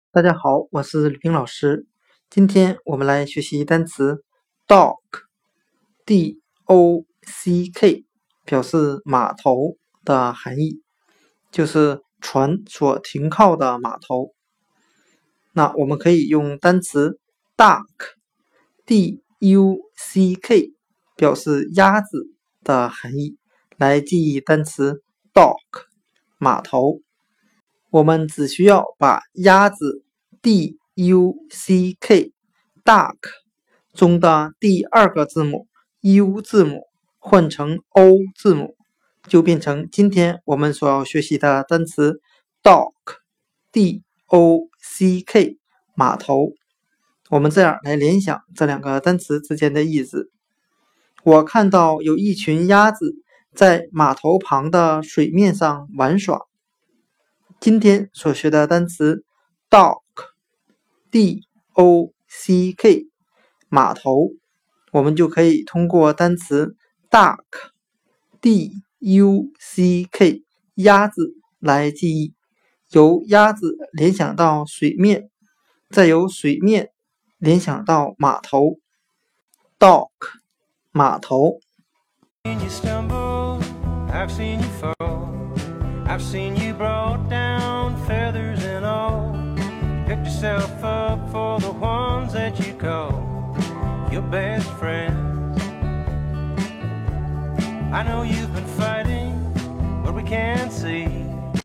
大家好，我是吕冰老师。今天我们来学习单词 dock，D-O-C-K， 表示码头的含义，就是船所停靠的码头。那我们可以用单词 duck，D-U-C-K， 表示鸭子的含义，来记忆单词 dock， 码头。我们只需要把鸭子 duck duck 中的第二个字母 u 字母换成 o 字母，就变成今天我们所要学习的单词 dock dock 码头。我们这样来联想这两个单词之间的意思。我看到有一群鸭子在码头旁的水面上玩耍。今天所学的单词 dock D-O-C-K 码头，我们就可以通过单词 duck D-U-C-K 鸭子来记忆，由鸭子联想到水面，再由水面联想到码头。dock 码头。 I've seen you brought down, feathers and all. Picked yourself up for the ones that you call your best friends. I know you've been fighting, but we can't see